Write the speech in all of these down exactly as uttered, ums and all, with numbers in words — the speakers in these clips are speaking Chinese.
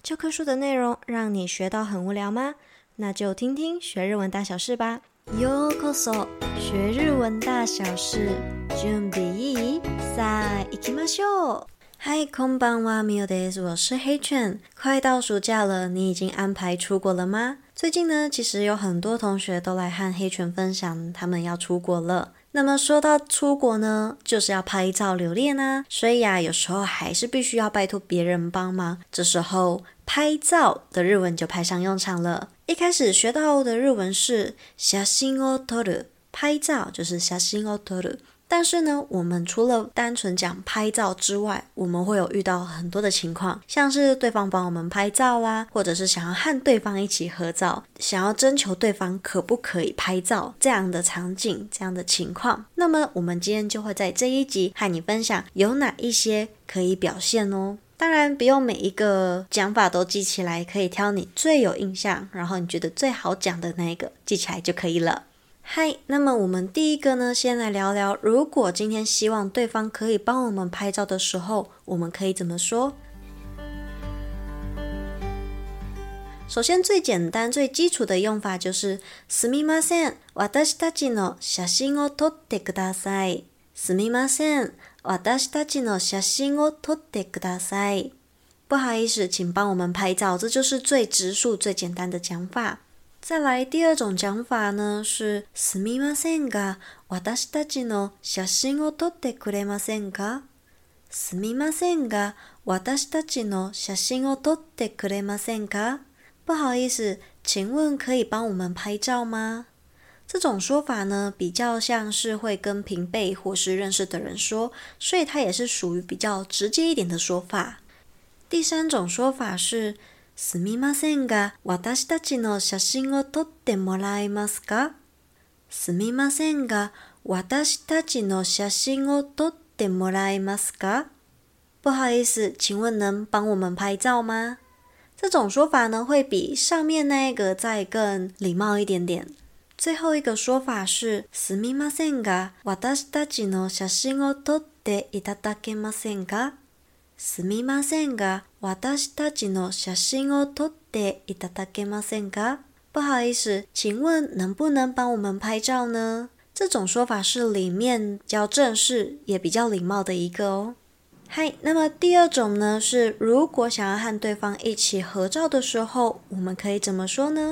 教科書的內容讓你學到很無聊嗎？那就聽聽學日文大小事吧。ようこそ，學日文大小事。準備いい？さあ行きましょう。嗨，こんばんは、みおです。我是黑犬。快到暑假了，你已經安排出國了嗎？最近呢，其實有很多同學都來和黑犬分享，他們要出國了。那麼說到出國呢，就是要拍照留念啊，所以啊，有時候還是必須要拜託別人幫忙。這時候拍照的日文就派上用場了。一開始學到的日文是写真を撮る，拍照就是寫真を撮る。但是呢，我們除了單純講拍照之外，我們會有遇到很多的情況，像是對方幫我們拍照啦，或者是想要和對方一起合照，想要徵求對方可不可以拍照這樣的場景，這樣的情況。那麼我們今天就會在這一集和你分享有哪一些可以表現哦。當然不用每一個講法都記起來，可以挑你最有印象，然後你覺得最好講的那一個記起來就可以了。嗨，那麼我們第一個呢，先來聊聊，如果今天希望對方可以幫我們拍照的時候，我們可以怎麼說？首先最簡單最基礎的用法就是すみません、私たちの寫真を撮ってください。すみません、私たちの寫真を撮ってください。不好意思，請幫我們拍照，這就是最直述最簡單的講法。再來第二種講法呢，是すみませんが、私たちの寫真を撮ってくれませんか？すみませんが、私たちの寫真を撮ってくれませんか？不好意思，請問可以幫我們拍照嗎？這種說法呢，比較像是會跟平輩或是認識的人說，所以它也是屬於比較直接一點的說法。第三種說法是すみませんが、私たちの寫真を撮ってもらえますか？すみませんが、私たちの寫真を撮ってもらえますか？不好意思，請問能幫我們拍照嗎？這種說法呢，會比上面那一個再更禮貌一點點。最後一個說法是すみませんが、私たちの寫真を撮っていただけませんか？すみませんが、私たちの寫真を撮っていただけませんか？不好意思，請問能不能幫我們拍照呢？這種說法是裡面比較正式，也比較禮貌的一個哦。嗨，那麼第二種呢，是如果想要和對方一起合照的時候，我們可以怎麼說呢？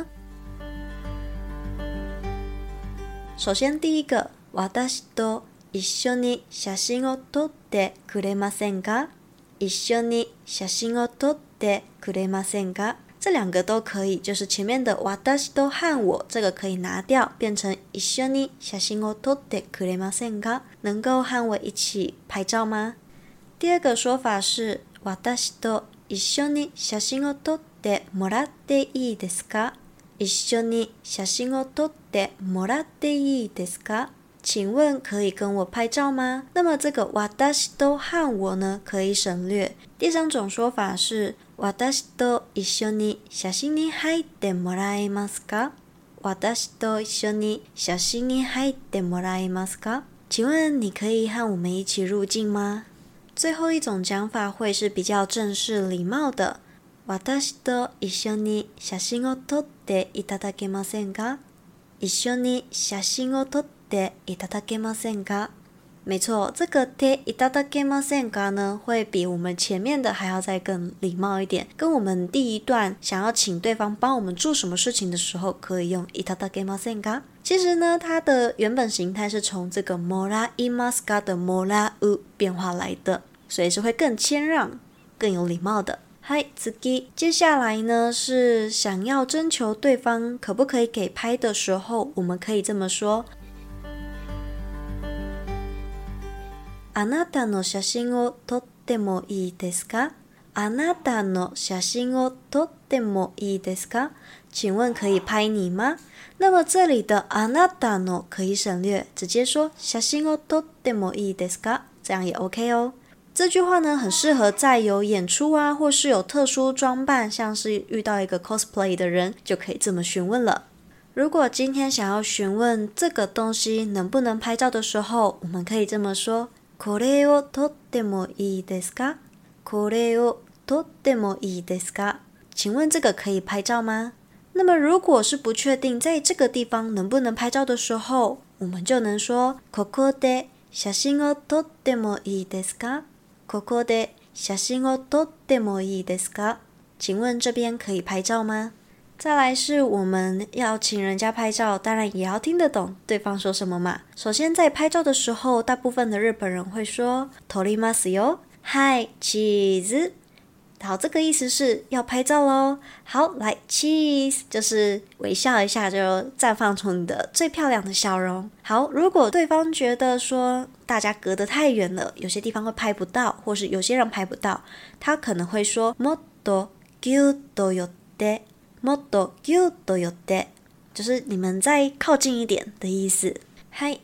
首先第一個，私と一緒に寫真を撮ってくれませんか？一緒に寫真を撮ってくれませんか？這兩個都可以，就是前面的私と和我這個可以拿掉，變成一緒に寫真を撮ってくれませんか？能夠和我一起拍照嗎？第二個說法是私と一緒に寫真を撮ってもらっていいですか？一緒に寫真を撮ってもらっていいですか？請問可以跟我拍照嗎？那麼這個私と和我呢，可以省略。第三種說法是私と一緒に寫真に入ってもらえますか？私と一緒に寫真に入ってもらえますか？請問你可以和我們一起入鏡嗎？最後一種講法會是比較正式禮貌的。私と一緒に寫真を撮っていただけませんか？一緒に寫真を撮っていただけませんか？沒錯，這個ていただけませんか呢，會比我們前面的還要再更禮貌一點。跟我們第一段想要請對方幫我們做什麼事情的時候，可以用いただけませんか。其實呢，它的原本形態是從這個もらいますか的もらう變化來的，所以是會更謙讓、更有禮貌的。嗨，次接下來呢是想要徵求對方可不可以給拍的時候，我們可以這麼說：あなたの寫真を撮ってもいいですか？あなたの寫真を撮ってもいいですか？請問可以拍你嗎？那麼這裡的あなたの可以省略，直接說寫真を撮ってもいいですか？這樣也 OK 哦。這句話呢，很適合在有演出啊，或是有特殊裝扮，像是遇到一個 cosplay 的人，就可以這麼詢問了。如果今天想要詢問這個東西能不能拍照的時候，我們可以這麼說：これを撮ってもいいですか？これを撮ってもいいですか？ 請問這個可以拍照嗎？那麼如果是不確定在這個地方能不能拍照的時候，我們就能說ここで寫真を撮ってもいいですか？ここで寫真を撮ってもいいですか？請問這邊可以拍照嗎？再來是我們要請人家拍照，當然也要聽得懂對方說什麼嘛。首先在拍照的時候，大部分的日本人會說撮りますよ。はい、チーズ。好，這個意思是要拍照咯。好，來 cheese 就是微笑一下，就綻放出你的最漂亮的笑容。好，如果對方覺得說大家隔得太遠了，有些地方會拍不到，或是有些人拍不到，他可能會說もっとギュッと寄ってもっとギュッと寄って，就是你們再靠近一點的意思。嗨。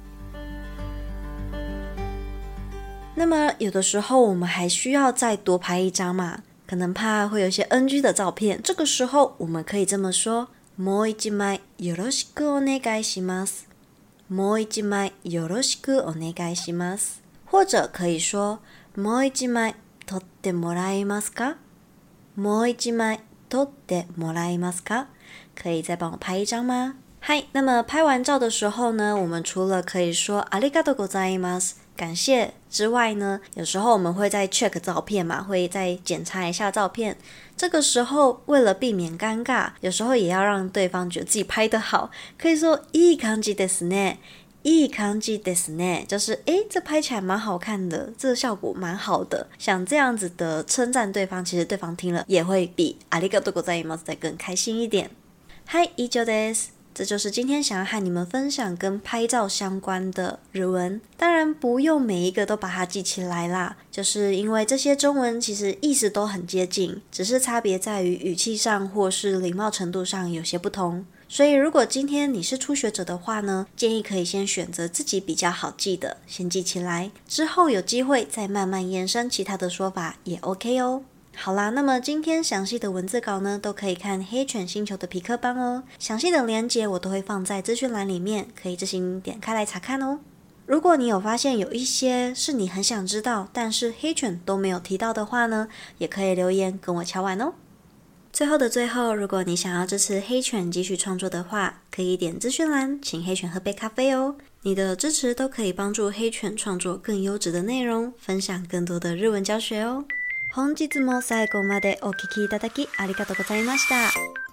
那麼有的時候我們還需要再多拍一張嘛，可能怕會有一些 N G 的照片，這個時候我們可以這麼說，もう一枚よろしくお願いします。もう一枚よろしくお願いします。或者可以說もう一枚撮ってもらえますか？もう一枚撮ってもらえますか？可以再幫我拍一張嗎？嗨，那麼拍完照的時候呢，我們除了可以說ありがとうございます感謝之外呢，有時候我們會再 check 照片嘛，會再檢查一下照片。這個時候為了避免尷尬，有時候也要讓對方覺得自己拍得好，可以說いい感じですね。いい感じですね，就是誒，這拍起來蠻好看的，這個效果蠻好的。像這樣子的稱讚對方，其實對方聽了也會比ありがとうございます再更開心一點。はい、以上です。這就是今天想要和你們分享跟拍照相關的日文，當然不用每一個都把它記起來啦，就是因為這些中文其實意思都很接近，只是差別在於語氣上或是禮貌程度上有些不同。所以如果今天你是初學者的話呢，建議可以先選擇自己比較好記的，先記起來，之後有機會再慢慢延伸其他的說法也 OK 哦。好啦，那麼今天詳細的文字稿呢，都可以看黑犬星球的痞客邦哦。詳細的連結我都會放在資訊欄裡面，可以自行點開來查看哦。如果你有發現有一些是你很想知道，但是黑犬都沒有提到的話呢，也可以留言跟我敲碗哦。最後的最後，如果你想要支持黑犬繼續創作的話，可以點資訊欄，請黑犬喝杯咖啡哦。你的支持都可以幫助黑犬創作更優質的內容，分享更多的日文教學哦。本日も最後までお聞きいただきありがとうございました。